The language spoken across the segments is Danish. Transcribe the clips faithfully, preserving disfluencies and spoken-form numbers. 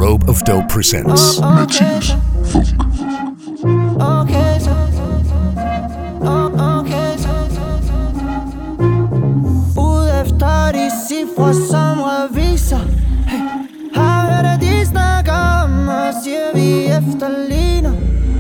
Robe of Dope presents Mathias Funk. Okay, so, oh, okay, so. Ud efter de cifre, som reviser. Hey, har hørt, at de snakker om os, siger vi efterligner.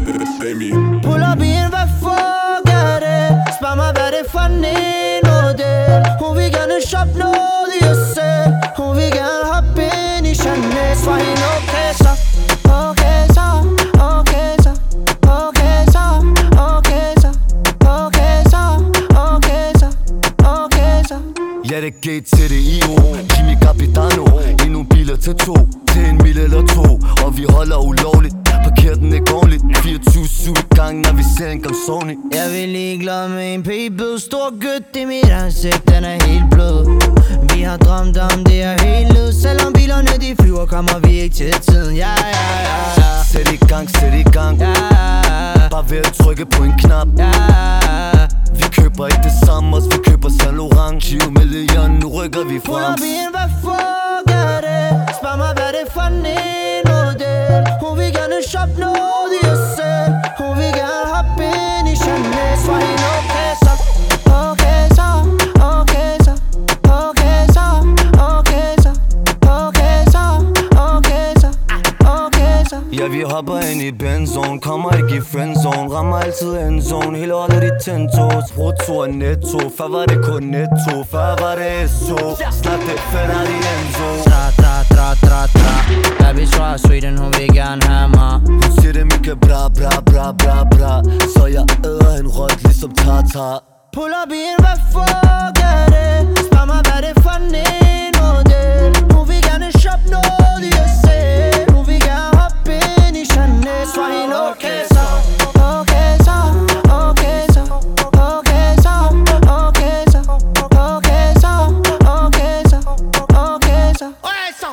Pull up i en, hvad fuck er det? Spørg mig, hvad det for en model. Hun vil gerne shoppe noget i os selv. Hun vil gerne hoppe ind i Chanel. Svar hende okay så, okay så, okay så, okay så, okay så, okay så, okay så, okay så. Ja, det er G til det I O, Kimi Capitano. Endnu biler til to, til en mil eller to. Og vi holder ulovligt, parkerer den ikke ordentligt. fireogtyve syv i gang, når vi ser en gang Sony. Jeg vil ligeglad med en p-bød. Stor gødt i mit ansigt, den er helt blød. Vi har drømt om det er helt lød. Selvom bilerne de flyver, kommer vi ikke til tiden. Ja, ja, ja, ja. Sæt i gang, sæt i gang, ja. Bare ved at trykke på en knap, ja. Vi køber ikke det samme, os vi køber Saint Laurent. tyve millioner, nu rykker vi Pull frem. up i en, hvad fuck er det? Spørg mig, hvad det for en model. Hun vil gerne shoppe noget i os selv. Hun vil gerne hoppe ind i Chanel. Svar hende okay så, okay så, okay så, okay så, okay så, okay så, okay så, okay så. Ja, vi hopper ind i bendzone, kommer ikke i friendzone. Rammer altid endzone, hele året i tentos. Brutto og netto, før var det kun netto. Før var det S O, snart det Ferrari Enzo. Tra, tra, tra, tra, tra. Baby fra Sweden, hun vil gerne have mig. Hun siger det Mika bra, bra, bra, bra, bra. Så jeg æder en rødt ligesom tartar. Pull up i en, hvad fuck er det? Spørg mig, hvad det for en model. Hun vil gerne shoppe noget i os selv. Hun vil gerne hoppe ind i Chanel. Svar hende okay så, okay så, okay så, okay så, okay så, okay så, okay så, okay så, okay så.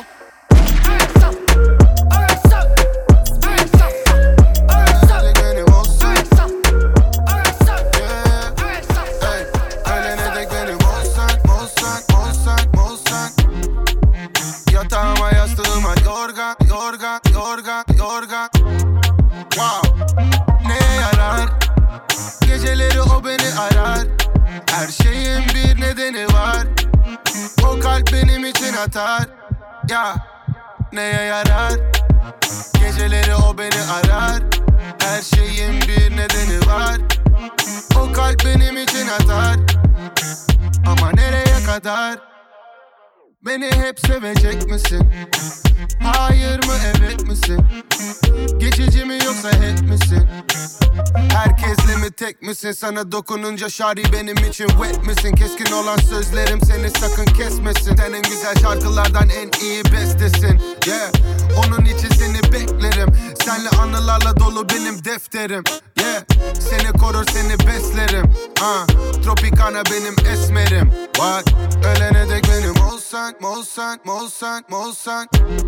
Wow, neye yarar? Geceleri o beni arar. Her şeyin bir nedeni var. O kalp benim için atar. Ya, neye yarar? Geceleri o beni arar. Her şeyin bir nedeni var. O kalp benim için atar. Ama nereye kadar? Beni hep sevecek misin? Hayır mı evet misin? Geçici mi yoksa hep misin? Herkesle mi tek misin? Sana dokununca şari benim için wet misin? Keskin olan sözlerim seni sakın kesmesin. Sen en güzel şarkılardan en iyi bestesin. Yeah, onun için seni beklerim. Senle anılarla dolu benim defterim. Yeah, seni korur seni beslerim. uh, Tropicana benim esmerim. Bak, ölene dek benim olsan, olsan, olsan, olsan.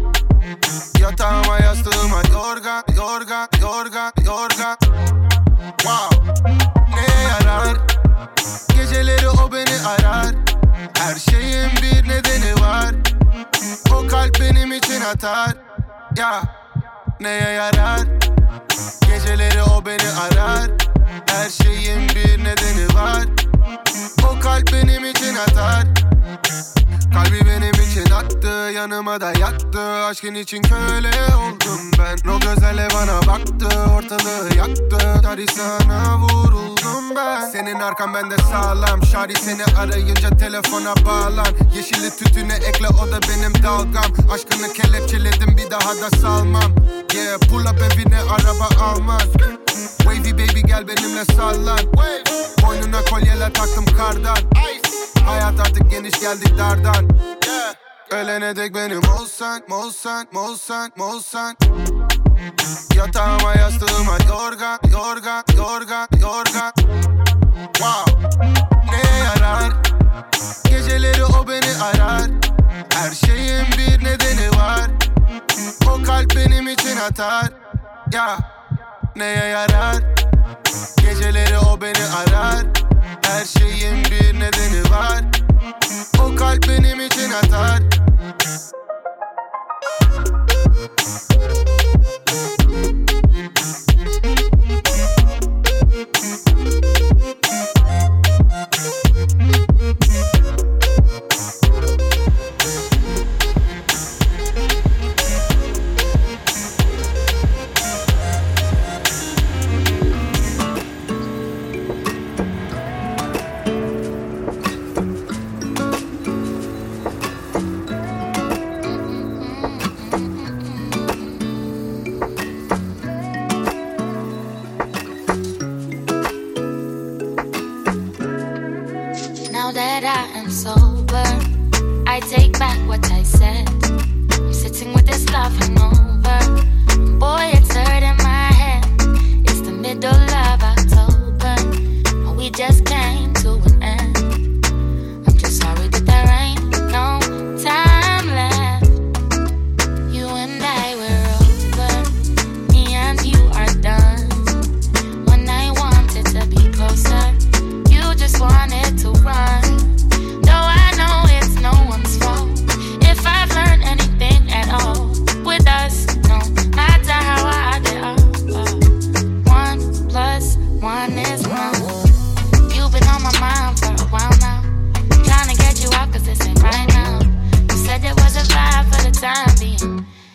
Yatağıma yastığıma yorga, yorga, yorga, yorga. Wow, neye yarar? Geceleri o beni arar. Her şeyin bir nedeni var. O kalp benim için atar. Ya, neye yarar? Geceleri o beni arar. Her şeyin bir nedeni var. O kalp benim için atar. Kalbi benim için attı, yanıma da yattı. Aşkın için köle oldum ben. O gözlerle bana baktı, ortalığı yaktı. Tari sana vuruldum ben. Senin arkan bende sağlam. Şari seni arayınca telefona bağlan. Yeşili tütüne ekle, o da benim dalgam. Aşkını kelepçeledim, bir daha da salmam. Yeah, pull up evine araba almaz. Wavy baby gel benimle sallan. Boynuna kolyeler taktım kardan. Hayat artık geniş, geldik dardan. Yeah. Ölene dek benim olsan, olsan, olsan, olsan. Yatağıma yastığıma yorga, yorga, yorga, yorga. Wow, neye yarar? Geceleri o beni arar. Her şeyin bir nedeni var. O kalp benim için atar. Ya, neye yarar? Geceleri o beni arar. Her şeyin bir nedeni var. O kalp benim için atar.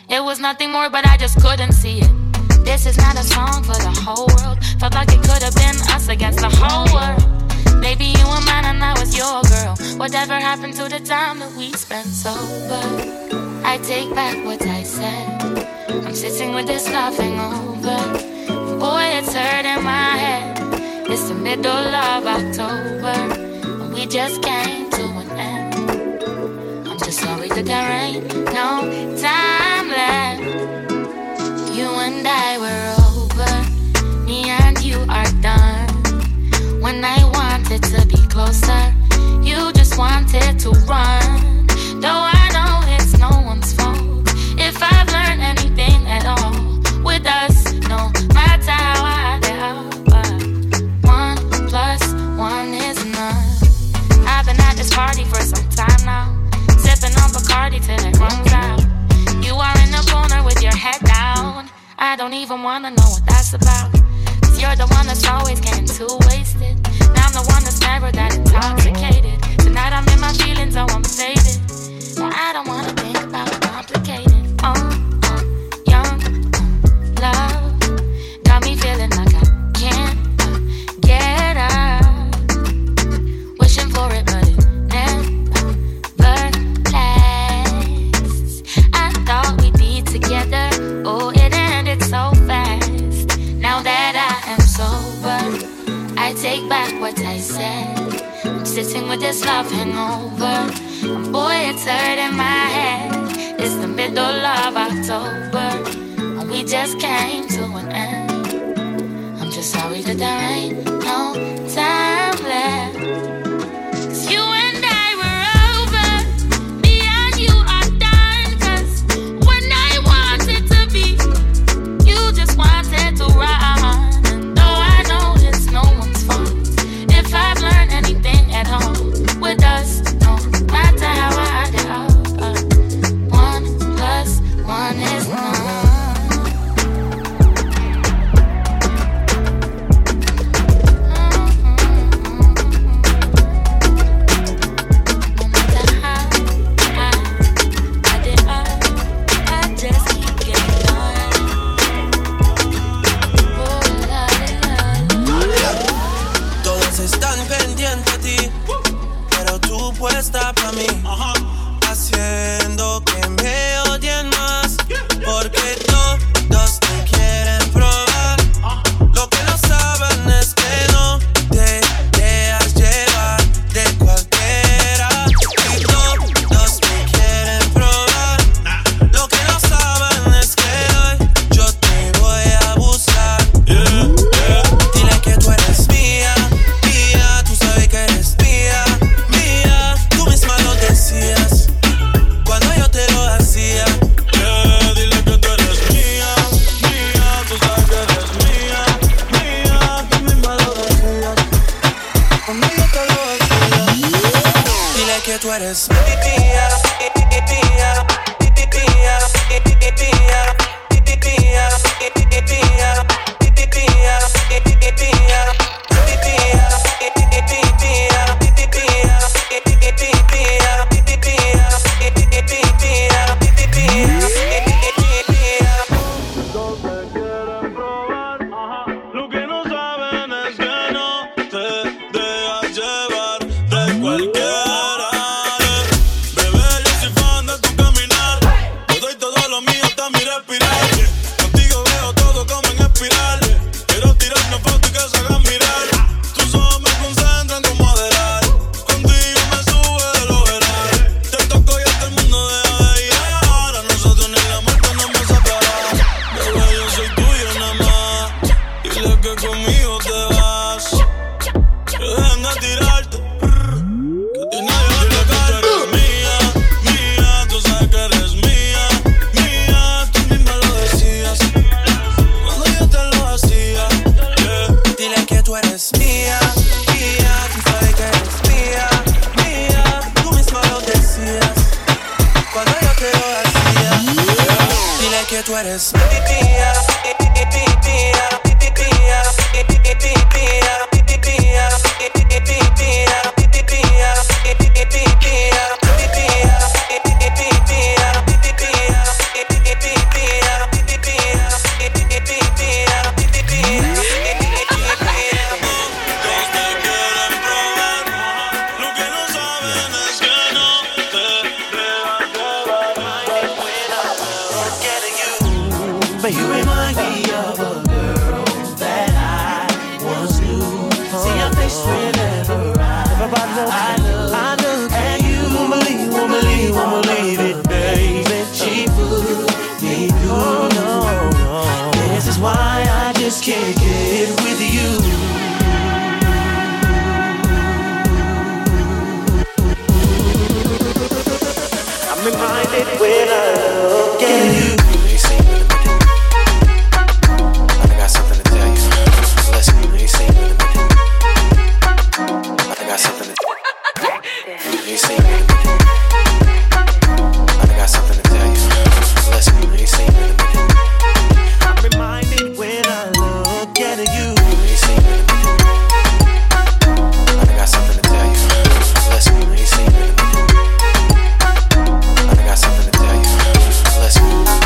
It was nothing more, but I just couldn't see it. This is not a song for the whole world. Felt like it could have been us against the whole world. Baby, you were mine and I was your girl. Whatever happened to the time that we spent sober? I take back what I said. I'm sitting with this love hangover. Boy, it's hurting my head. It's the middle of October, and we just came to an end. I'm just sorry that there ain't no time left. You and I were over. Me and you are done. When I wanted to be closer, you just wanted to run. Though I know it's no one's fault. If I've learned anything at all with us, no matter how I help, one plus one is none. I've been at this party for some time now, sipping on Bacardi till it runs out. You are in the corner with your head down. I don't even wanna know what that's about. Cause you're the one that's always getting too wasted. Now I'm the one that's never that intoxicated. Tonight I'm in my feelings, oh I'm faded. But I don't wanna think about complicated. Oh, oh, young, oh, love got me feeling like I can't uh, get up. Wishing for it, but it never lasts. I thought we'd be together. Oh, it ended so fast. Now that I am sober, I take back what I said. I'm sitting with this love hangover, and boy, it's hurting my head. It's the middle of October, and we just came to an end. I'm just sorry that there ain't no time left. Cause you and I were over. Me and you are done. Cause when I wanted to be, you just wanted to run. And though I know it's no one's fault, if I've learned anything at all with us, no matter how I help, uh, one plus one is none. Puesta pa' mí, uh-huh. Haciendo que me odien más, porque todos te quieren probar. Uh-huh. Lo que no saben es que no te dejas llevar de cualquiera. Y todos te quieren probar. Nah. Lo que no saben es que hoy yo te voy a buscar. Yeah, yeah. Dile que tú eres mía, mía, tú sabes que eres mía. Cuando yo te lo hacía, yeah, dile que tú eres mía, mía, tú sabes que eres mía, mía, tú misma lo decías. Cuando yo te lo hacía, dile que tú eres mía, mía, mía, mía, que tú eres mía, mía, mía, mía, mía, for you. You remind me of a girl that I once knew. See your face whenever I, I look, I look, and you won't believe, won't believe, won't believe it, baby. She put me through. No, no. This is why I just can't get with you. I'm reminded when I look at you. You see me in the middle. I got something to tell you. Listen, you see me in the middle. I got something to tell you. You see me in the middle. I got something to tell you. Listen, you see me in the middle. I'm reminded when I look at you. You see me in the middle. I got something to tell you. Listen, you see me in the middle. I got something to tell you. Listen,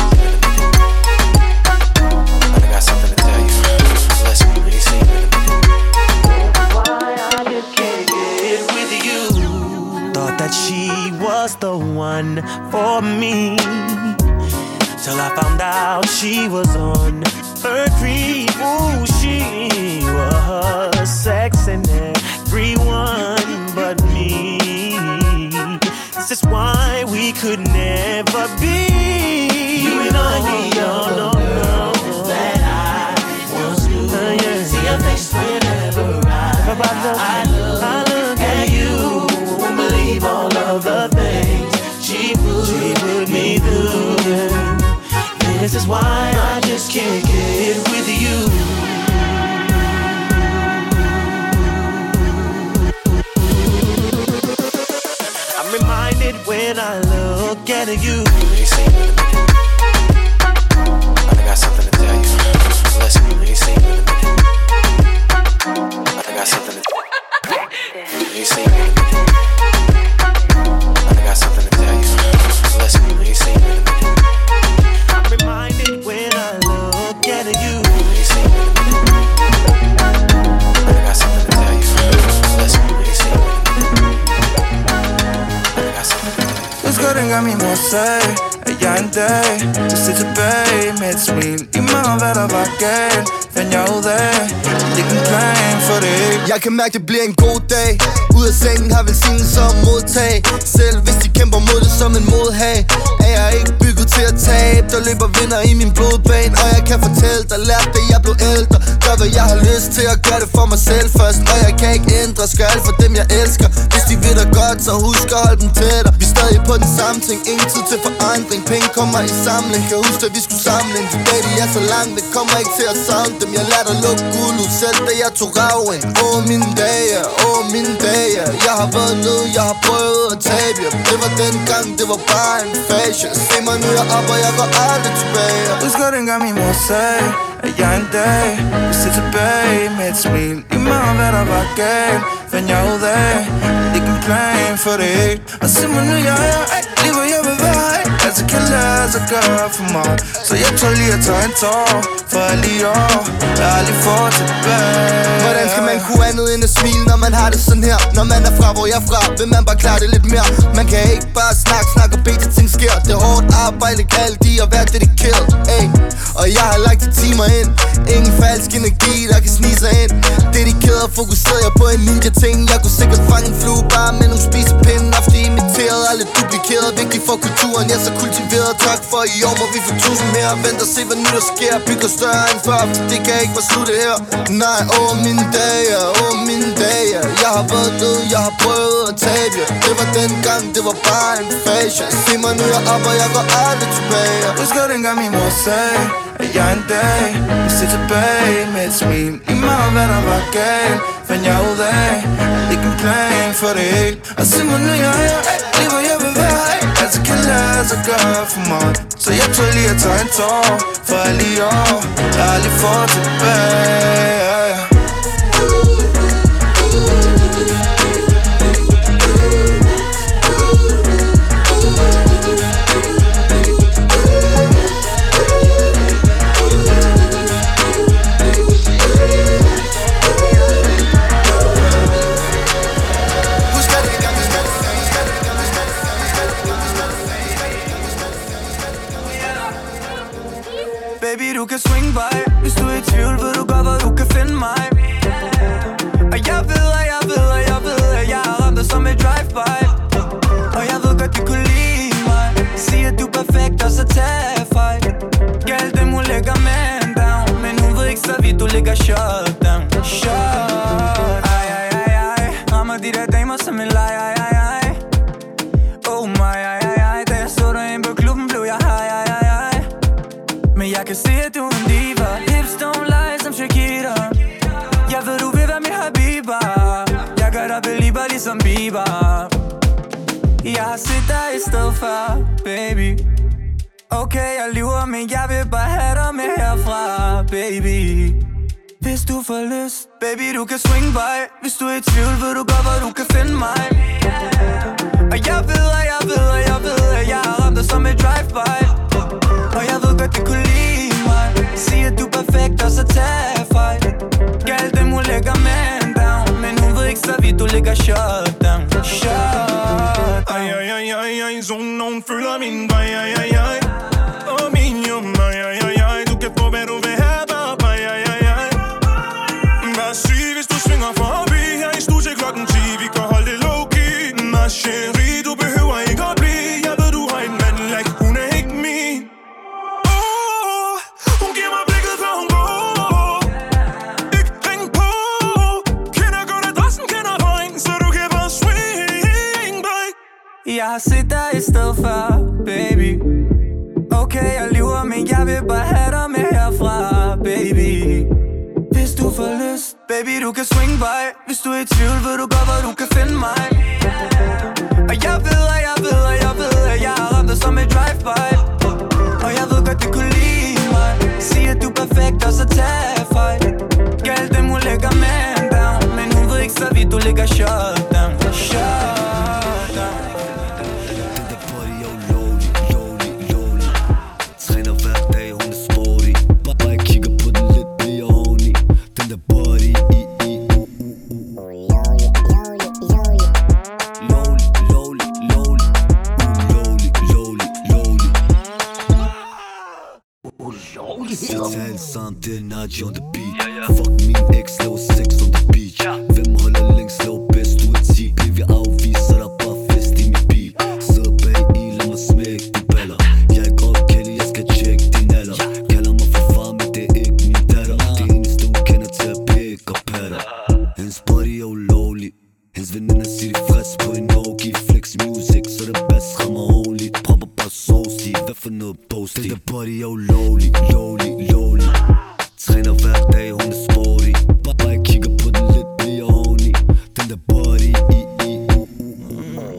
I got something to tell you. Listen, you see me in the middle. Why I just can't get with you. Thought that she was the one for me, till I found out she was on her creep. Ooh, she was sexing everyone but me. This is why we could never be. You remind me of no, no, no, that I once knew. Uh, yeah. See your face whenever I, I look, I look at you. Won't believe all of the things she put, she put me through. Yeah. This is why I just can't get with you. I'm reminded when I look at you. You see me in the middle. I got something to tell you. Listen, you see me in the middle. I got something to tell you. You see me in the middle. I got something to tell you. Listen, you see me in the middle. I'm reminded when I look at you. You see me in the middle. I got something to tell you. Listen, you see me in the middle. I got something to tell you. Husker dengang min mor sagde, at jeg en dag vil se tilbage med et smil. I meget hvad der var galt, fandt jeg ud af, det er en plan for det. Jeg kan mærke det bliver en god dag. Ud af sengen har velsignelse som modtag. Selv hvis de kæmper mod det som en modhag, er jeg ikke bygget til at tabe. Der løber vinder i min blodbane, og jeg kan fortælle dig, lærte det jeg blev ældre. Gør hvad jeg har lyst til at gøre det for mig selv først, og jeg kan ikke ændre, skal alt for dem jeg elsker. Hvis de vil dig godt, så husk at holde dem tættere. Vi er stadig på den samme ting, ingen tid til forandring. Penge kommer i samling, kan huske at vi skulle samle en. De dage de er så langt, det kommer ikke til at savne dem. Jeg lærte at lukke guld ud selv, da jeg tog raven. Åh mine dage, åh mine dage. Jeg har været nede, jeg har prøvet at tabe. Det var dengang, det var bare en fase. Se mig nu, jeg er op, og jeg går aldrig tilbage. Husker dengang min mor sagde, at jeg en dag vil se tilbage med et smil. I meget hvad der var galt, fandt jeg ud af, det er en plan for det. Og se mig nu, jeg er lige hvor jeg vil være. Altså kan lade sig gøre for mig, så jeg tror lige at tage en tår for alle i år, jeg aldrig får tilbage. Hvordan skal man kunne andet end at smile, når man har det sådan her? Når man er fra, hvor jeg er fra, vil man bare klare det lidt mere. Man kan ikke bare snakke, snakke og bede til ting sker. Det er hårdt arbejde, alt i at være dedikeret, ey. Og jeg har lagt de timer ind, ingen falsk energi, der kan snige sig ind. Dedikeret og fokuseret jeg på en ninja-ting. Jeg kunne sikkert fange en flue bare med nogle spisepinde. Ofte imiteret, aldrig duplikeret. Vigtigt for kulturen, jeg er så kultiveret. Tak for i år, må vi få tusind mere. Vent og se hvad nu der sker, bygger større end før, for det kan ikke være slutte her. Nej, åh mine dage, åh mine dage. Jeg har været død, jeg har prøvet at tabe. Det var dengang, det var bare en fase. Se mig nu, jeg er op, og jeg går aldrig tilbage. Husker dengang min mor sagde, at jeg en dag vil se tilbage med et smil. I meget hvad der var galt, fandt jeg ud af, det er en plan for det. Og se mig nu, jeg er lige hvor jeg vil være. Altså kan lade sig gøre for mig, så jeg tror lige at tage en tår for alle i år, jeg aldrig får tilbage. Baby, du kan swing by. Hvis du er i tvivl, ved du godt, hvor du kan finde mig. Og jeg ved, og jeg ved, og jeg ved, at jeg har ramt dig som et drive-by. Og jeg ved godt, du kunne lide mig. Sig, at du er perfekt, og så tag fejl. Gæld dem, hun lægger man down. Men hun ved ikke så vidt, du ligger shut down. Shut. Ej, ej, ej, ej. Rammer de der damer som en leg, ej, ej, ej. Oh my, ej, ej, ej. Da jeg så dig ind på klubben, blev jeg high, ej, ej, ej. Men jeg kan se, at du er en diva. Hips don't lie som Shakira. Jeg ved, du vil være min habiba. Jeg gør dig belieber ligesom Bieber. Jeg har set dig i stedet for, baby. Okay, jeg lyver, men jeg vil bare have dig med herfra, baby. Hvis du får lyst, baby, du kan swing by. Hvis du er i tvivl, ved du godt, hvor du kan finde mig. Og jeg ved, og jeg ved, og jeg ved, at jeg har ramt dig som et drive-by. Og jeg ved godt, du kunne lide mig. Sig, at du er perfekt, og så tag fejl. Gæld dem, hun lægger man down. Men hun ved ikke så vidt, du ligger shut down. Shut down. Ej, ej, ej, ej, ej. Zonen, nogen føler min vej, ej, ej, ej. Og min jum, ej, ej, ej, ej. Du kan få, hvad du vil have, bare, ej, aj, aj, aj. Hvad syg, hvis du svinger forbi her i studiet klokken ti. Vi kan holde det low-key. Ma chérie, du behøver ikke at blive. Jeg ved, du har en mand, like hun er ikke min. Oh, hun giver mig blikket, før hun går. Ikke ring på. Kender godt adressen, kender vejen, så du kan bare swing by. Jeg har set dig i stedet for, baby. Okay, jeg lyver, men jeg vil bare have dig med herfra, baby. Hvis du får lyst, baby, du kan swing by. Hvis du er i tvivl, ved du godt, hvor du kan finde mig. Og jeg ved, og jeg ved, og jeg ved, at jeg har ramt dig som et drive-by. Og jeg ved godt, du kunne lide mig. Sig, at du er perfekt, og så tag fejl. Gæld dem, hun lægger man down. Men hun ved ikke så vidt, du ligger shut down. Shut down. Totalt sammen, det er Naji on the beat. Fuck min ex, laver sex on the beach. Hvem holder længst, laver bedst, du er ti. Bliver vi afvist, så der bare fest i min bil. Sidder bag i, lad mig smække de baller. Jeg er godt Kelly, jeg skal tjekke din alder. Kalder mig for far, men det er ikke min datter. Det eneste hun kender til at pick og patter. Hendes body er ulovlig. Hendes veninder siger de frisk på en hoagie. Flex music, så det bedst rammer only. Propper bare sauce i, hvad for noget boasty. Den der body er ulovlig, lovlig, lovlig. Træner hver dag, hun er sporty. Bare bare jeg kigger på den lidt, bliver horny. Den der body, i, i, u, u, u.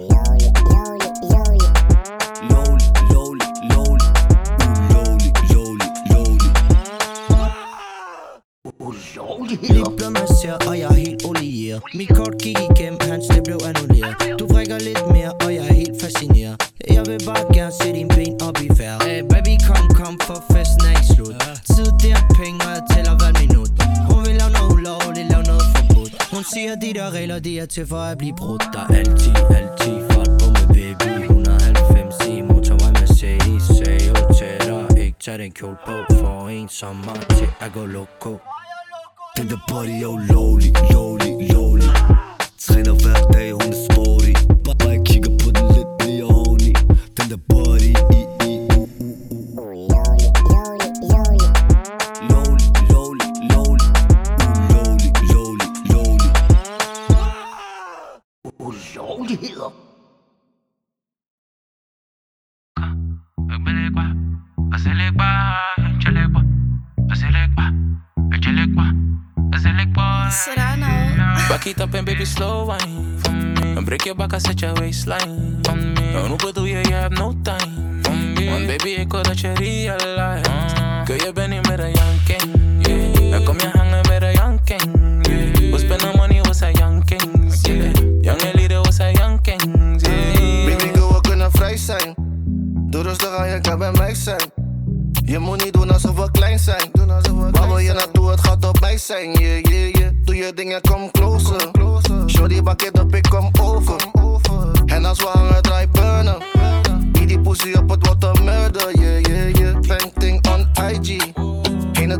Lovlig, lovlig, lovlig. Ulovlig, lovlig, lovlig. Lidt blod man ser, og jeg er helt olieret. Mit kort gik igennem, hans det blev annulleret. Du vrikker lidt mere, og jeg er helt fascineret. Jeg vil bare gerne se dine ben op i færd. Hey baby, kom, kom, for festen er ikke slut. Tid, det er penge, og jeg tæller hver minut. Hun vil lave noget ulovligt, lave noget forbudt. Hun siger, de der regler, de er til for at blive brudt. Der er altid, altid fart på med baby. et hundrede og halvfems i motorvej Mercedes. Sagde jo til dig, ikke tag den kjole på. For en sommer til at gå loco. Den der body er ulovlig, lovlig, lovlig. Træner hver dag, hun er sporty. Bare bare jeg kigger på den lidt, bliver horny. Den der body, i, i, u, u, u. Lovlig, lovlig, lovlig. Ulovlig, lovlig, lovlig. Ulovligheder. Back it up and baby slow wine for me. And break your back and set your waistline for me. En hoe bedoel je, you have no time for me. Want baby, ik wil dat je realize. Kun je ben niet meer een janking, yeah. Dan kom je hangen met een janking, yeah. We spenden money, we zijn jankings, yeah. Jonge lieden, we zijn jankings, yeah. Baby girl, we kunnen vrij zijn. Doe rustig aan, je kan bij mij zijn. Je moet niet doen alsof we klein zijn. Waar wil je naartoe, het gaat op mij zijn. Yeah, yeah, yeah. Doe je dingen, kom closer. Shorty, bak it op, ik kom over. En als we hangen, draai burnen. Die die pussy op, het wordt een murder. Yeah, yeah, yeah. Painting on I G.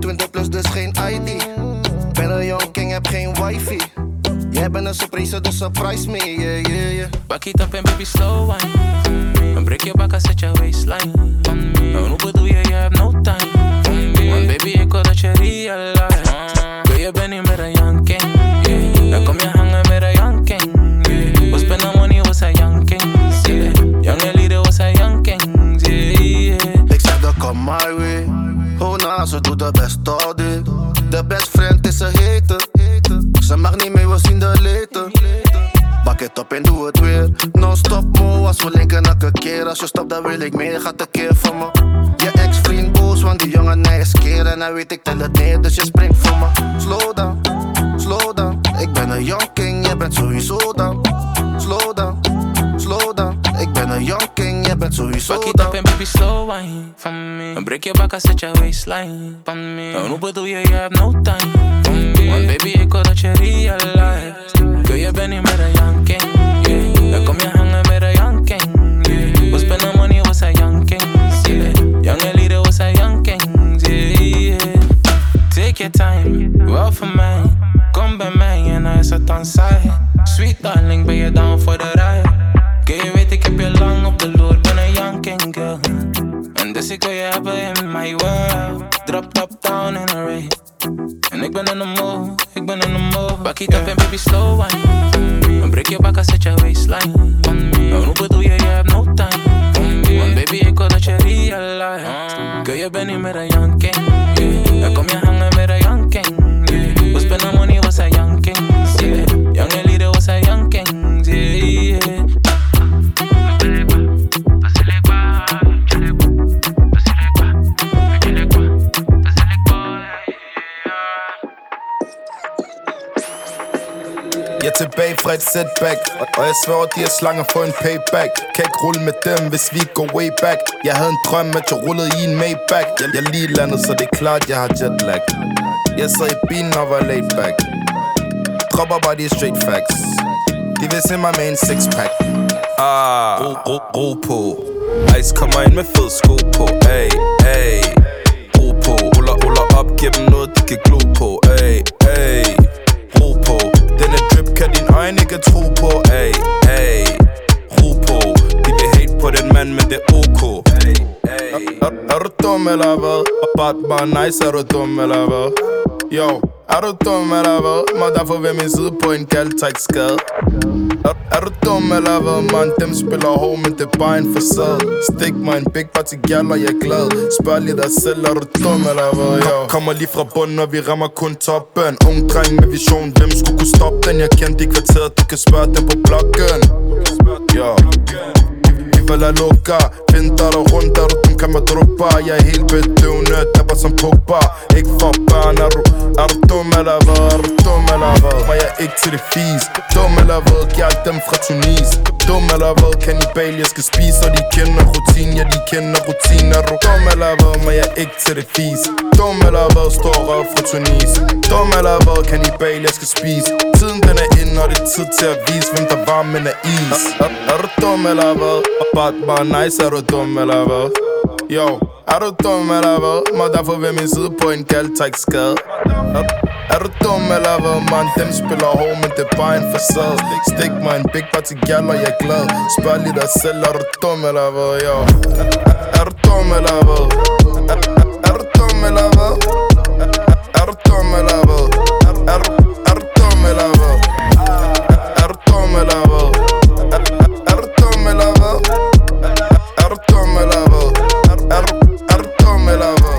twintig plus, dus geen I D. Ben een young king, heb geen wifi. Jij bent een surprise, dus surprise me, yeah, yeah, yeah. Back it up and baby slow wine. And break your back and set your waistline. Nou, hoe bedoel je, je hebt no time. Want baby, ik wil dat je realize. Girl, je bent niet meer een young king. Dan kom je hangen met een young king. We spenden money, was a young king. Young leader was a young king. Ik zeg dat kom my way. Hoe na, ze doet de best all day. De best friend is een hater. Ze mag niet mee, we zien de later. Bak het op en doe het weer. Non-stop mo, als we linken elke keer. Als je stopt dan wil ik meer, gaat een keer van me. Je ex-vriend boos, want die jongen nee is keer. En dan weet ik tel het neer, dus je springt voor me. Slow down, slow down. Ik ben een young king, jij bent sowieso down. Slow down, slow down. Ik ben een young king, jij bent sowieso down. Back it up and baby slow wine van me. En break your back and set your waistline van me. Nou, hoe bedoel je, je hebt no time van me. Want baby, ik wil dat je realize. Girl, je bent niet meer een young king, yeah. Dan kom je hangen met een young king, yeah. We spenden money, was a young king, yeah. Young leader was a young king, yeah. Take your time, wel voor mij. Kom bij mij en hij is het dan saai. Sweet darling, ben je down voor de ride? Girl, je weet ik heb je lang op de loer, ben een young king girl. En dus ik wil je hebben in my world. Drop top down in a race. En ik ben in de move, ik ben in de move. Back it up and baby slow wine. En break your back and set your waistline. Nou, hoe bedoel je, je hebt no time. Want baby, ik wil dat je realize. Girl, je bent niet meer een young king, yeah. Dan kom je hangen met een young king, yeah. We spenden money, was a young king, yeah. Young leader was a young king, yeah. Jeg er tilbage fra et setback, og jeg svær, de er slanger for en payback. Kan ikke rulle med dem, hvis vi går way back. Jeg havde en drøm, at jeg rullede i en Maybach. Jeg, jeg lige landet, så det er klart, jeg har jetlag. Jeg sad i bilen og var laid back. Dropper bare de straight facts. De vil se mig med en sixpack. Ah, ro, ro, ro på. Ice kommer ind med fed sko på. Ay, ay, ro på. Ruller, ruller op, giv dem noget, de kan glo på. Ay, ay, ro på. Denne drip kan din øjne ikke tro på. Ay, ay, ro på. De vil hate på den mand, men det er ok. Ay, ay. Er, er du dum eller hvad? Bare bare nice, er du dum eller hvad? Yo, er du dum eller hvad? Må derfor ved min side på en kaldtræk skade. Er, er du dum eller hvad, man? Dem spiller hård, men det er bare en facade. Stik mig en big party gal, og jeg er glad. Spørg lige dig selv, er du dum eller hvad? Yo. Kommer lige fra bunden, og vi rammer kun toppen. Ung dreng med vision, hvem skulle kunne stoppe den? Jeg kendte i kvarteret, du kan spørge dem på bloggen. Yo. Falder lukker, finder dig rundt, er du dum, kan man druppe. Jeg er helt bedøvende, dapper som Pogba. Ikke for børn, er du, er du dum eller hvad? Er du dum eller hvad? Var jeg ikke til det fis? Dum eller hvad? Gjald dem fra Tunis. Dum eller hvad? Kannibal, jeg skal spise, og de kender rutin. Ja, de kender rutin. Er du dum eller hvad? Var jeg ikke til det fis? Dum eller hvad? Stor røv fra Tunis. Dum eller hvad? Kannibal, jeg skal spise. Tiden den er inde, og det er tid til at vise, hvem der var, men er is. Er, er, er du dum eller hvad? Bare, bare nice, er du dum eller hvad? Yo, er du dum eller hvad? Må derfor ved min side på en kaldtræk skade. Er, er du dum eller hvad, man? Dem spiller hård, men det er bare en facade. Stik mig en big party gal, og jeg er glad. Spørg lige dig selv, er du dum eller hvad? Yo, er, er, er du dum eller hvad? Er, er, er du dum eller hvad? Er, er du dum eller hvad? Er, er, du, er du dum eller hvad? Er, er du dum eller hvad? Er, er, er du dum eller hvad? Er du dum eller hvad? Er, er, du, er du dum eller hvad?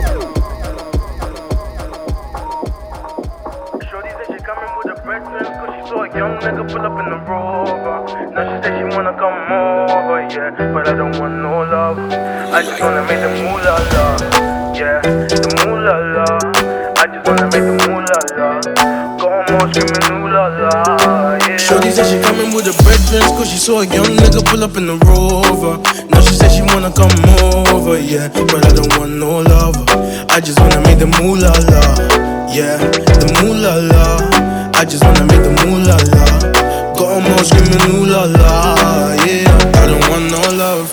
Shorty said she coming with her breakfast, cause she saw a young nigga pull up in the Rover. Now she said she wanna come over, yeah, but I don't want no love. I just wanna make the moolah la, yeah, the moolah la. I just wanna make the moolah la. Go home all screaming ooh la la, yeah. Shorty said she coming with her breakfast, cause she saw a young nigga pull up in the Rover. Now she said she wanna come over, yeah, but I don't want no love. I just wanna make the moolah la, yeah, the moolah la. I just wanna make the moolah la. Go home all screaming ooh la la, yeah. I don't want no love,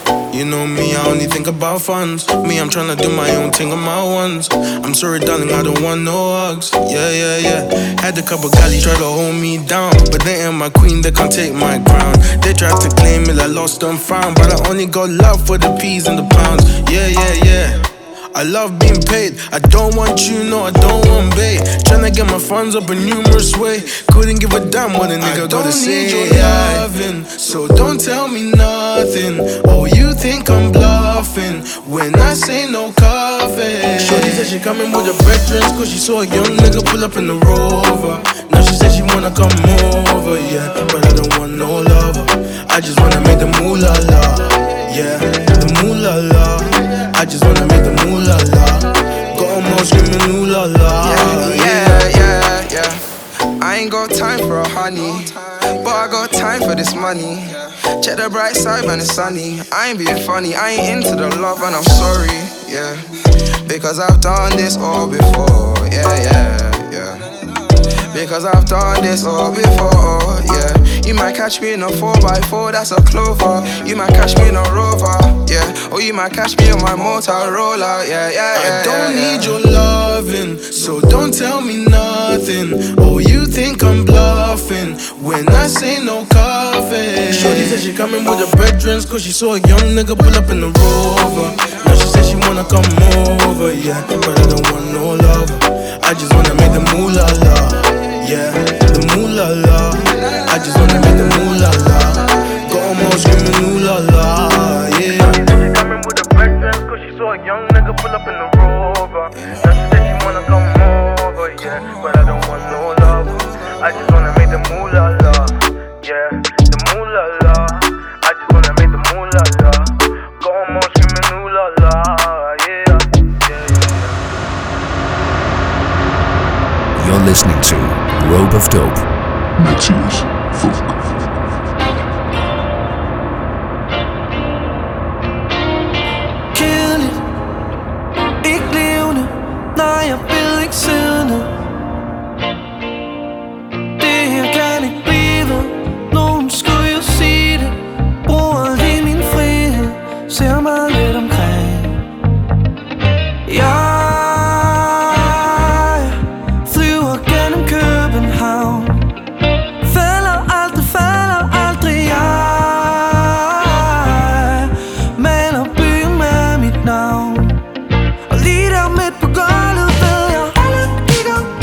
You know me, I only think about funds. Me, I'm tryna do my own thing on my ones. I'm sorry, darling, I don't want no hugs. Yeah, yeah, yeah. Had a couple galley try to hold me down, but they ain't my queen, they can't take my crown. They tried to claim it, I lost and found, but I only got love for the peas and the pounds. Yeah, yeah, yeah. I love being paid. I don't want you, no, I don't want bait. Tryna get my funds up a numerous way. Couldn't give a damn what a nigga gotta say. I don't need your loving, so don't tell me nothing. Oh, you think I'm bluffing when I say no coffee. Shorty said she coming with her brethren, cause she saw a young nigga pull up in the Rover. Now she said she wanna come over, yeah, but I don't want no lover. I just wanna make the moolah la, yeah, the moolah la. I just wanna make the moolah la. Got them all screaming ooh la la. Yeah, yeah, yeah, yeah. I ain't got time for a honey, but I got time for this money. Check the bright side when it's sunny. I ain't being funny, I ain't into the love and I'm sorry, yeah. Because I've done this all before, yeah, yeah, yeah. Because I've done this all before, yeah. You might catch me in a four by four, that's a Clover. You might catch me in a Rover, yeah. Or you might catch me on my Motorola, yeah, yeah, yeah. I don't yeah, need yeah. your loving, so don't tell me nothing. Oh, you think I'm bluffing when I say no coffee. Shorty said she coming with her brethren, cause she saw a young nigga pull up in the Rover. Now she said she wanna come over, yeah, but I don't want no lover. I just wanna make the moolah la, yeah, the moolah la. I just wanna make the moolah la. Got them all screaming ooh la la, yeah. She coming with her brethren, cause she saw a young nigga pull up in the Rover. Now she said she wanna come over, yeah, but I don't want no love. I just wanna make the moolah la, yeah, the moolah la. I just wanna make the moolah la. Got them all screaming ooh la la, yeah, yeah, yeah. You're listening to Robe of Dope. Matthias Funk. Kill it. Ikke levende. Nej, jeg vil ikke sende. Det her kan ikke blive. Nogen skulle jo sige det. Bruger lige min frihed. Ser mig lidt omkring. Jeg flyver gennem København. Falder aldrig, falder aldrig. Jeg maler byen med mit navn. Og lige der midt på gulvet ved jeg, alle kigger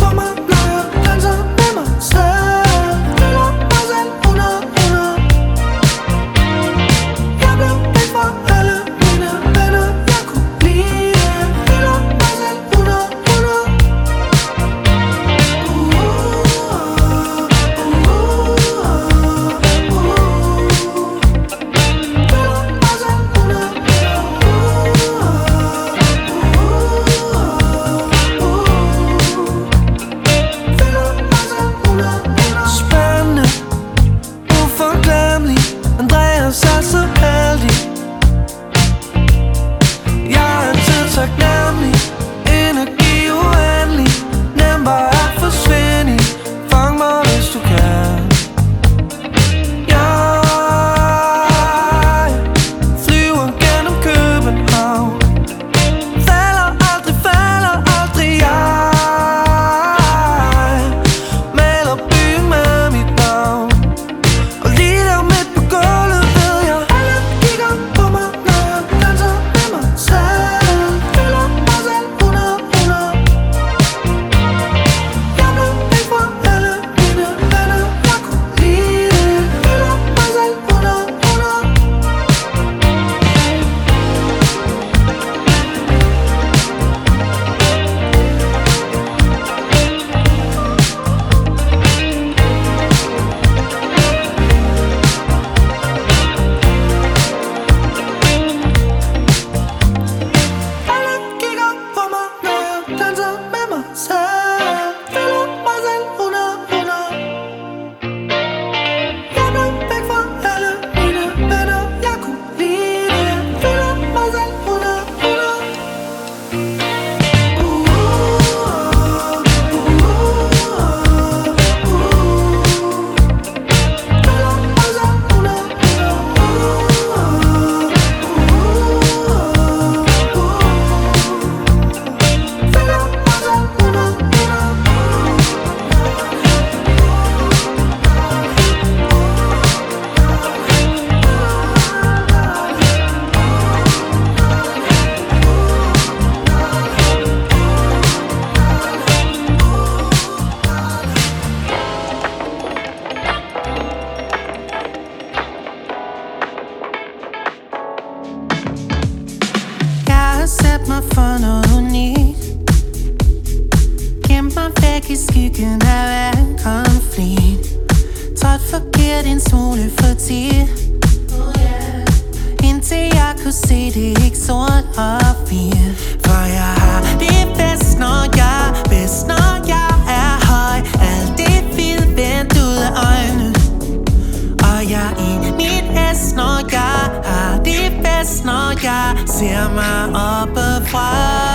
i skyggen af hver konflikt. Trådt forkert en smule for tit. Indtil jeg kunne se det ikke sort og hvidt. For jeg har det bedst, når jeg bedst, når jeg er høj. Alt det vildt vendt ud af øjnene. Og jeg er i mit bedst, når jeg har det bedst, når jeg ser mig oppefra.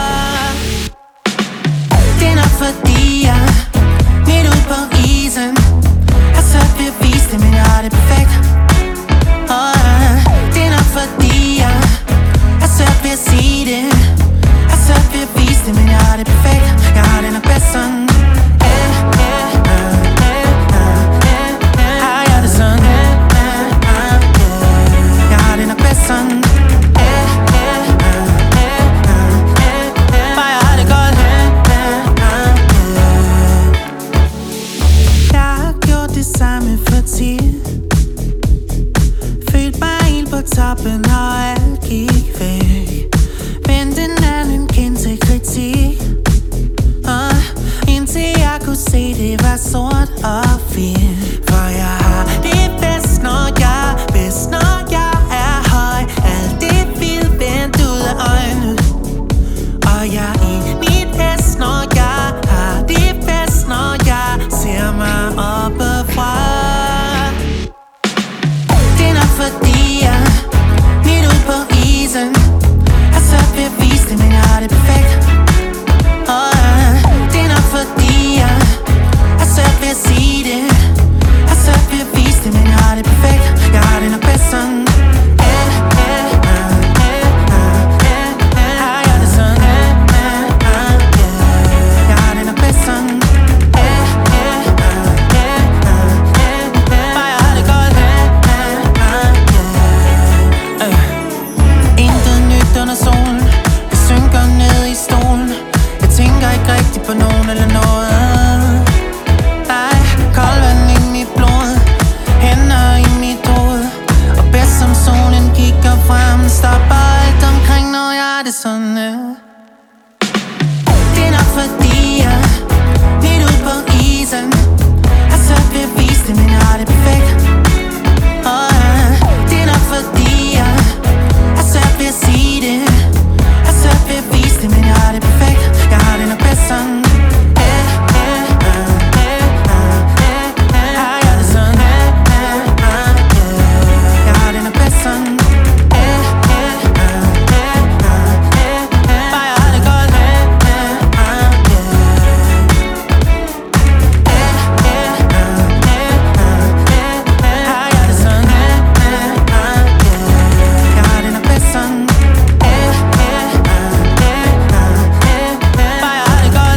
Det er nok fordi jeg midt ud på isen har svært ved at vise det, men jeg har det perfekt. Og det er nok fordi jeg har svært ved at sige det, har svært ved at vise det, men jeg har det perfekt. Jeg har det nok bedst sådan. Har jeg det sådan? Jeg har det nok bedst sådan. Bare jeg har det godt. Jeg har gjort det samme for tit. Følte mig helt på toppen, og alt gik væk. Men den anden kendte kritik, uh, indtil jeg kunne se, det var sort og hvidt. For jeg har det bedst, når jeg bedst, når jeg er høj. Alt det vildt vendt ud af øjnene. Og jeg er i mit bedst, når jeg har det bedst, når jeg ser mig oppefra. Det er nok fordi jeg midt ud på isen har svært ved at vise det, men jeg har det perfekt. Og det er nok fordi jeg har svært ved at sige det, har svært ved at vise det, men jeg har det perfekt. Jeg har det nok bedst sådan. Har jeg det sådan? Jeg har det nok bedst sådan. Bare jeg har det godt. Intet nyt under solen. Jeg synker ned i stolen. Jeg tænker ikke rigtig på nogen eller noget. Nej, kold vand i mit blod, hænder i mit hoved. Og bedst som solen kigger frem, stopper alt omkring, når jeg har det sådan. Det er nok fordi jeg midt ud på isen har svært ved at vise det, men jeg har det perfekt. Og det er nok fordi jeg har svært ved at sige det, har svært ved at vise det, men jeg har det perfekt. Jeg har det nok bedst sådan. Har jeg det sådan? Jeg har det nok bedst sådan. Bare jeg har det godt. Har jeg det sådan? Jeg har det nok bedst sådan. Bare jeg har det godt.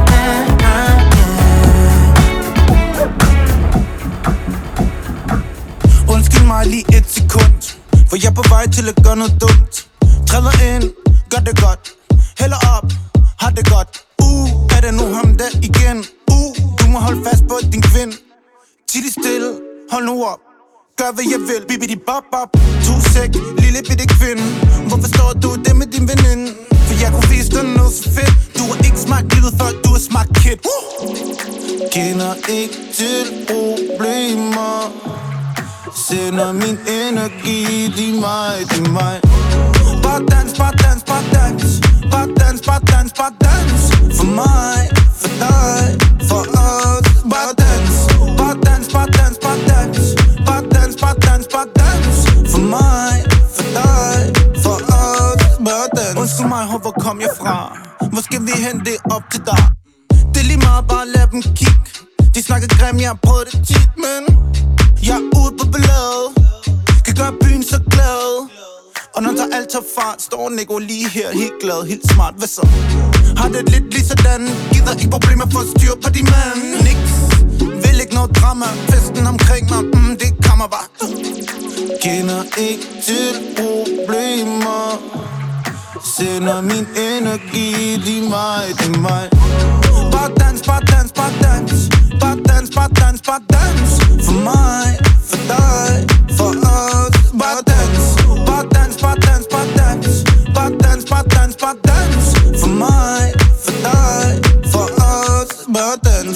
Undskyld mig lige et sekund, for jeg er på vej til at gøre noget dumt. Træder ind, gør det godt, hælder op, har det godt. Uh, er det nu ham der igen? Uh, du må holde fast på din kvinde. Tid stille, hold nu op, gør hvad jeg vil. Bibidi bop bop, to sæk, lille bitte kvinde. Hvorfor står du det med din veninde? For jeg kunne vise dig noget så fedt. Du har ikke smagt livet før, du har smagt kid. uh! Kender ikke til problemer, sender min energi, de mig, de mig. Bare dans, bare dans, bare dans, bare dans, bare dans, bare dans. For mig, for dig, for os. Bare dans, bare dans, bare dans, bare dans, bare dans, bare dans, bare dans. For mig, for dig, for os. Bare dans. Undskyld mig, hvor kom jeg fra? Hvor skal vi hen, det op til dig? Det er lige meget, bare lad dem kigge. De snakker grim, jeg har prøvet det tit, men jeg er ude på balladet, kan gøre byen så glad. Og når der alt tager fart, står Nico lige her, helt glad, helt smart. Hvad så? Har det lidt lige sådan, gider ikke problemer for at styre på de mand. Niks, vil ikke noget drama, festen omkring mig, mm, det kommer bare. Kender ikke til problemer, sender min energi, de mig, de mig. Bare dans, bare dans, bare dans, bare dans, bare dans, bare dans. For mig, for dig, for os. Bare dans, bare dans, bare dans, bare dans, bare dans, bare dans, bare dans. For mig, for dig, for os. Bare dans.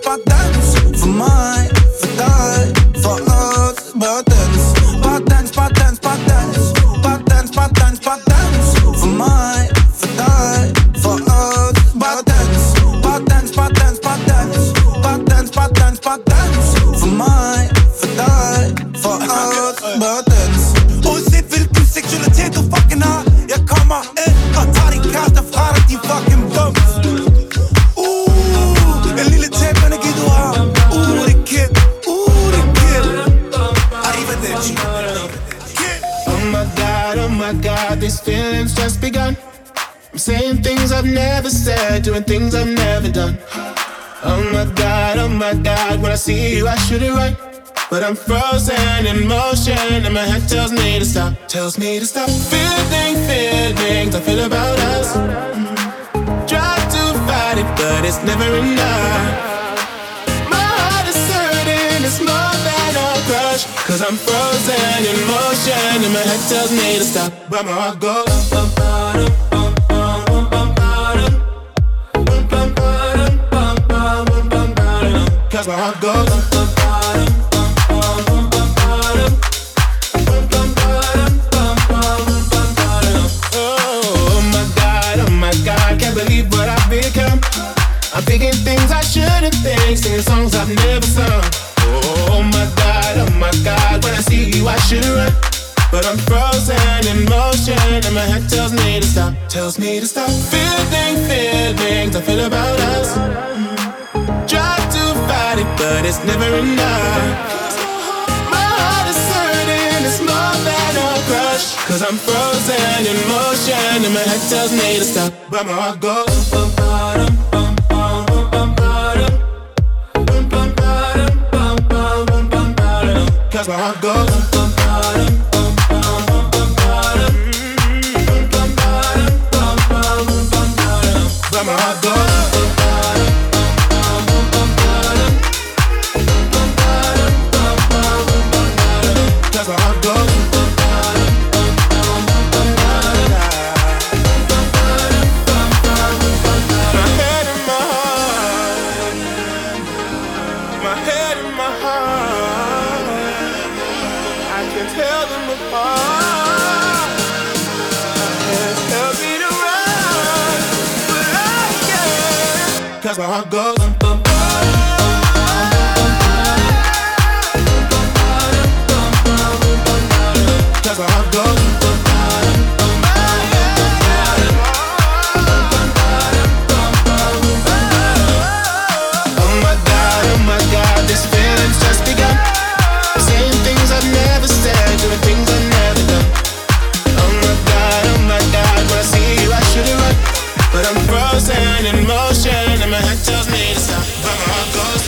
bare dans. For mig, for dig, for os. Bare dans, bare dans, bare dans, bare dans. Bare dans, bare dans, bare dans. For mig, for dig, for os. Bare dans, bare dans, bare dans, bare dans. Bare dans, bare dans, bare dans. For mig, for dig, for os. Bare dans. Uanset hvilken seksualitet du fucking har, jeg kommer ind og tager din kæreste fra dig, din fucking bums. Uh, en lille tæt energi du har. Uh, det er kid, uh, det er kid. Arrivederci. Oh my God, oh my God, these feelings just begun. I'm saying things I've never said, doing things I've never done. Oh my God, oh my God, when I see you I shoot it right, but I'm frozen in motion and my head tells me to stop, tells me to stop. Feeling, feelings I feel about us. Try to fight it, but it's never enough. My heart is hurting, it's more than a crush, cause I'm frozen in motion and my head tells me to stop, but my heart goes bum, bum, bum, bum, bum, bum, bum, bum, bum, bum, bum, bum, cause my heart goes bum, bum, believe what I've become. I'm thinking things I shouldn't think, singing songs I've never sung. Oh my God, oh my God, when I see you I should run, but I'm frozen in motion and my head tells me to stop, tells me to stop. Feeling, feelings I feel about us. Try to fight it, but it's never enough. My heart is hurting, it's more than a crush, cause I'm frozen in motion and my head tells me to stop, but my heart goes bum, bum, bum, bum, bum, bum, bum, bum, bum, bum, bum, bum, cause my heart goes bum, bum, bum, bum, bum, bum, but my heart goes cause my heart goes. Cause my heart goes bum, bum, cause my heart goes oh my God, oh my God, this feeling's just begun. Saying things I've never said, doing things I've never done. Oh my God, oh my God, when I see you I should have run, but I'm frozen in motion and my head tells me to stop, but my heart goes.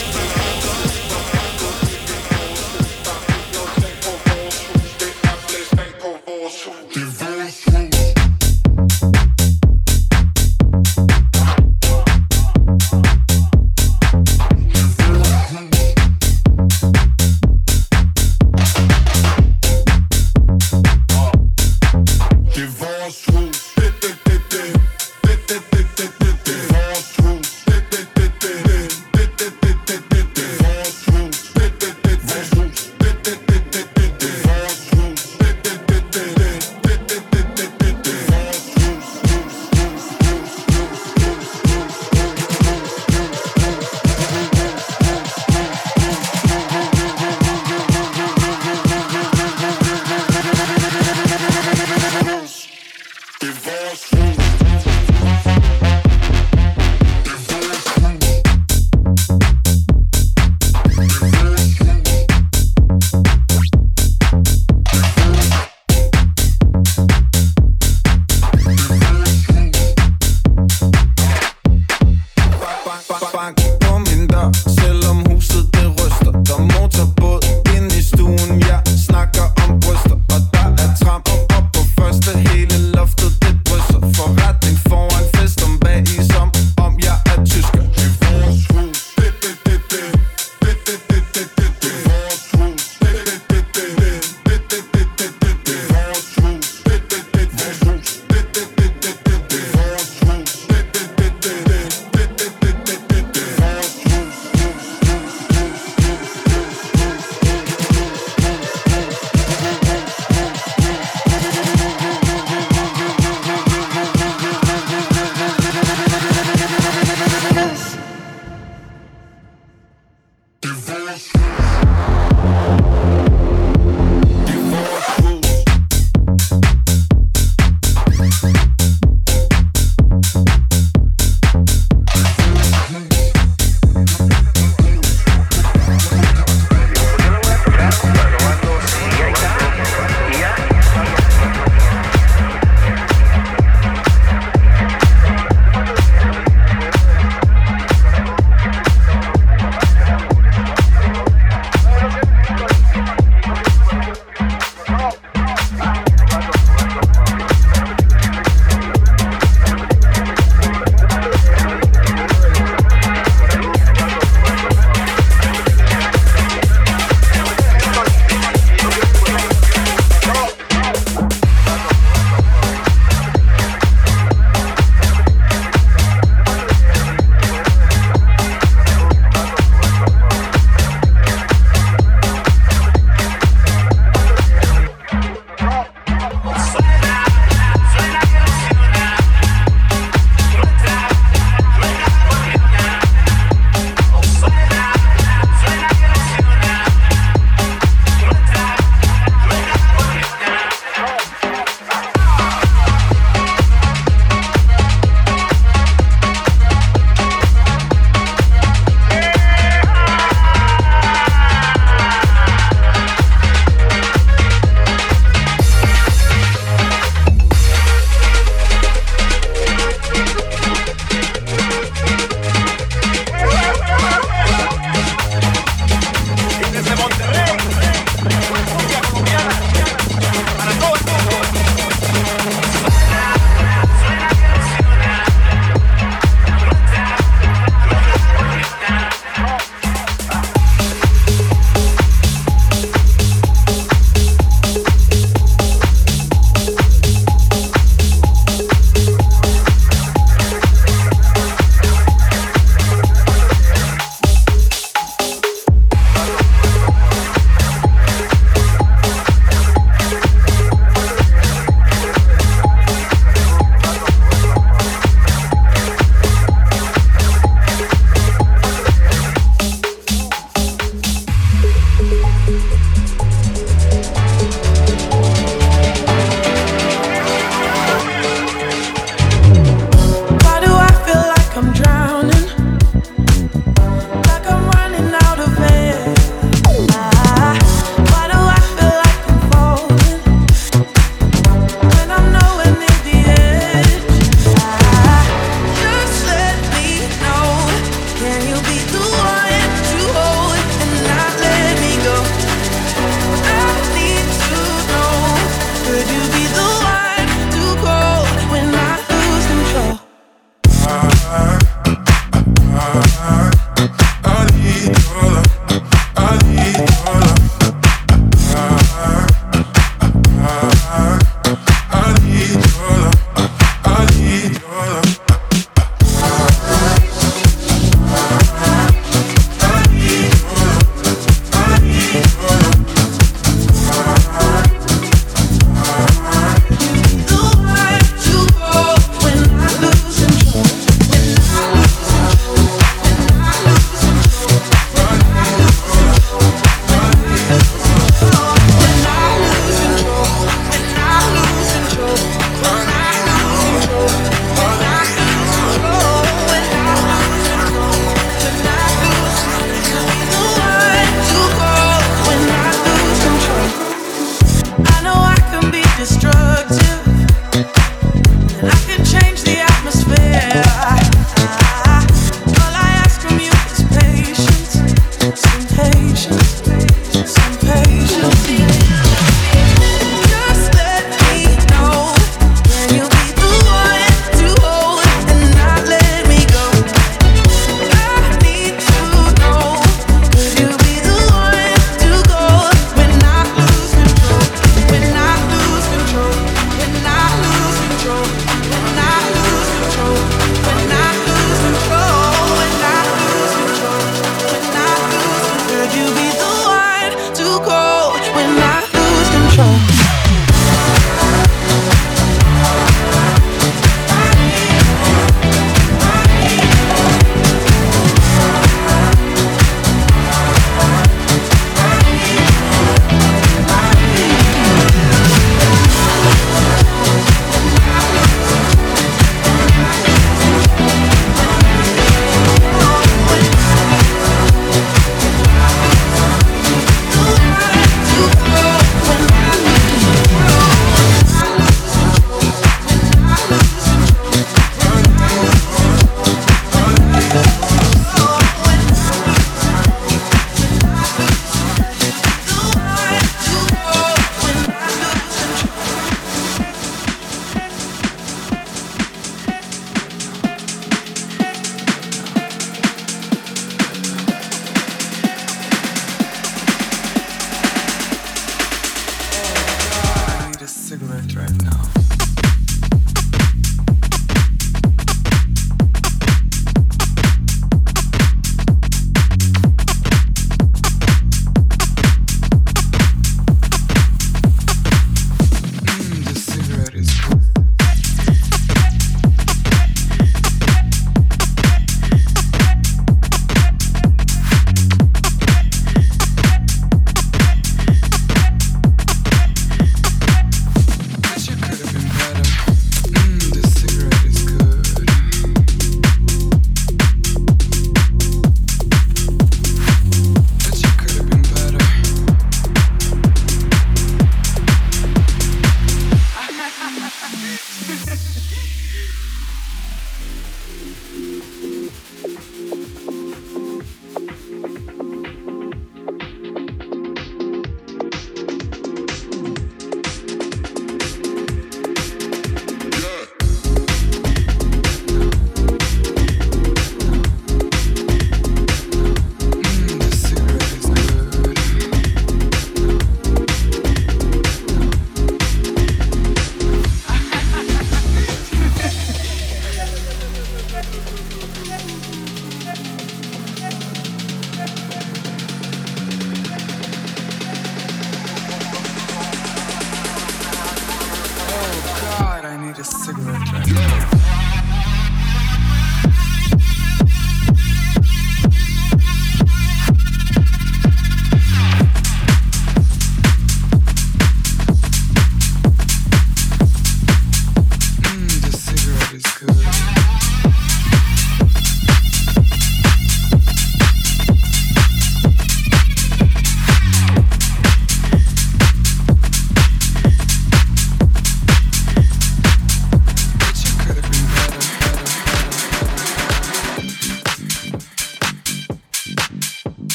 do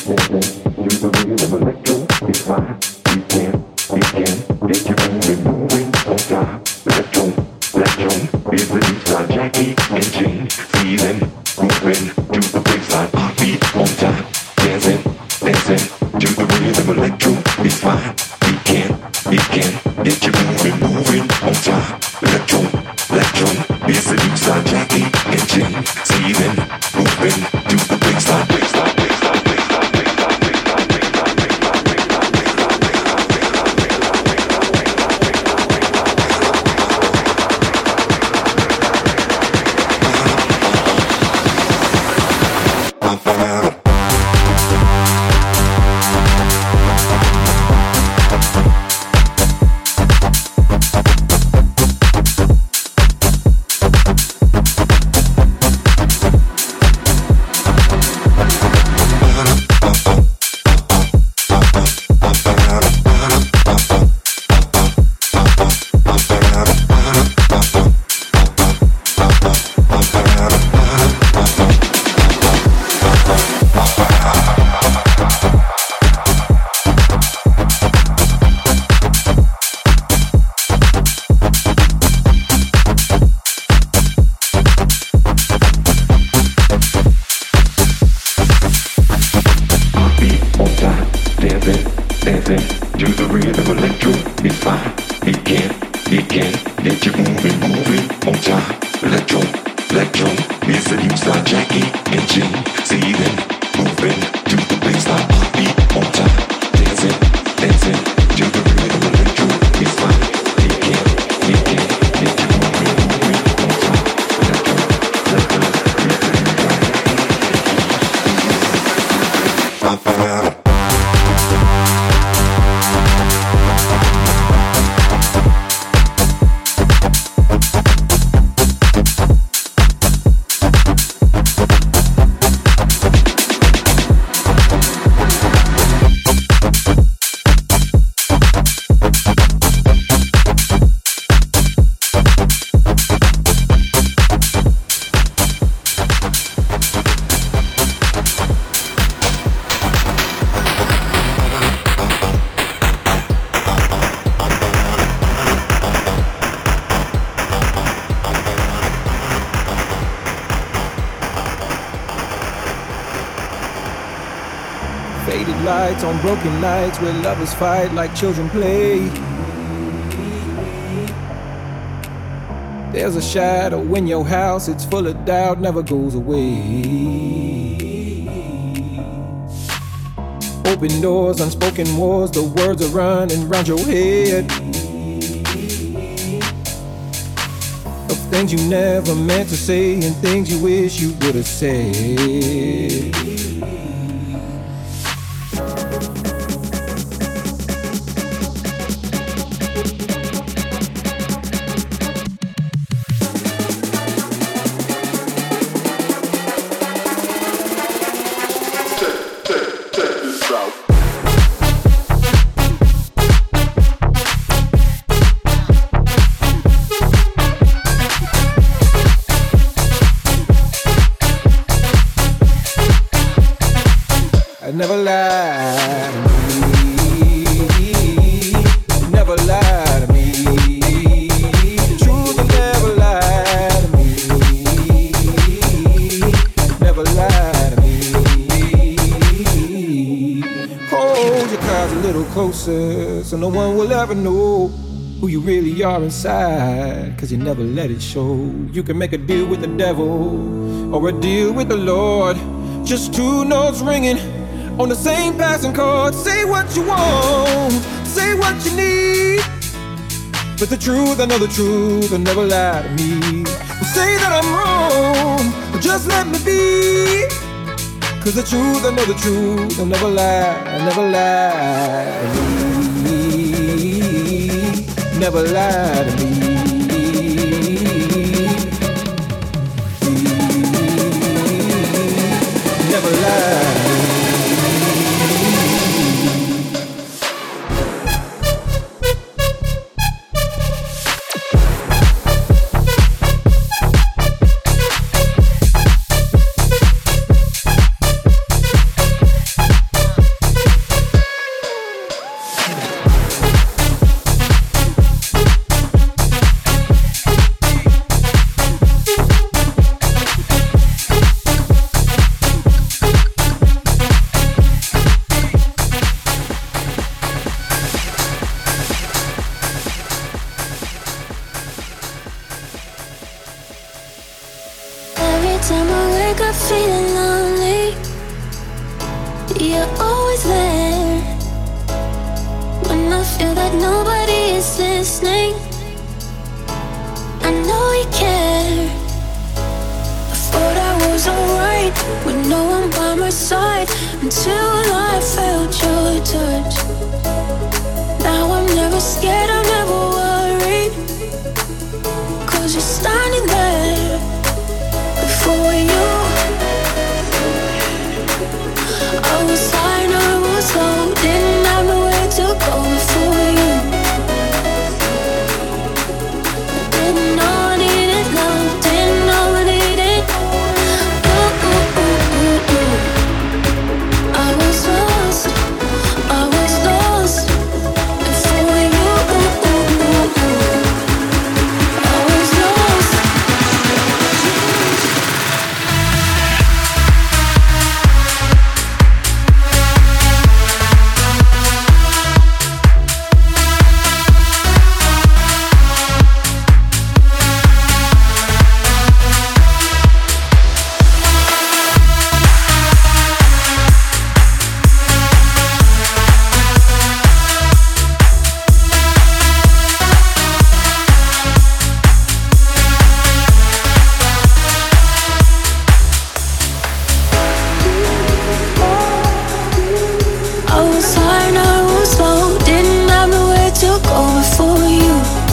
Faded lights on broken nights where lovers fight like children play. There's a shadow in your house, it's full of doubt, never goes away. Open doors, unspoken wars, the words are running round your head. Of things you never meant to say and things you wish you would have said. Never lie to me, never lie to me. The truth will never lie to me, never lie to me. Hold your cards a little closer so no one will ever know who you really are inside, cause you never let it show. You can make a deal with the devil or a deal with the Lord, just two notes ringing on the same passing chord. Say what you want, say what you need, but the truth, I know the truth, will never lie to me. Well, say that I'm wrong, but just let me be, cause the truth, I know the truth, will never lie, never lie to me, never lie to me. Never lie. You're always there when I feel that nobody is listening. I know you care. I thought I was alright with no one by my side until I felt your touch. Now I'm never scared, I'm never worried, 'cause you're standing there before you. I was high and I was low, didn't have nowhere to go before you. Didn't know I needed love, didn't know I needed. Ooh, ooh, ooh, ooh, ooh. I was lost, I was lost before you. Ooh, ooh, ooh, ooh. I was lost. I was high and I was low, didn't have nowhere to go before you.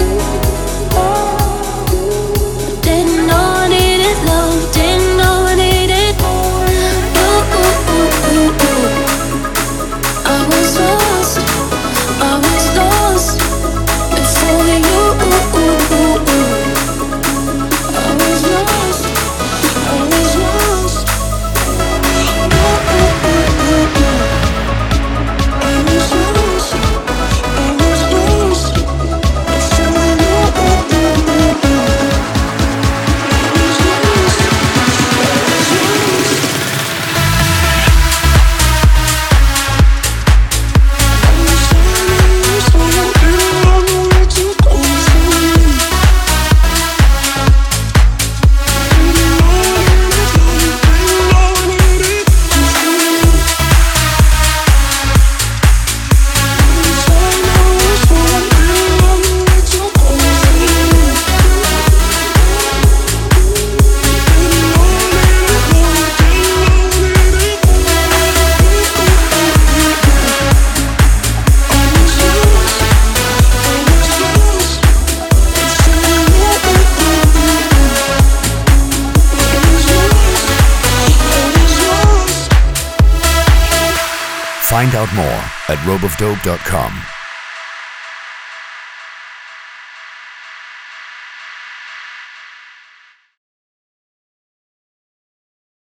Didn't know I needed love, didn't know I needed. Ooh, ooh, ooh, ooh, ooh. I was lost, I was lost before you. Ooh, ooh, ooh, ooh. I was lost, I was lost. Ooh, ooh, ooh, ooh, ooh. Find out more at rope of dope dot com.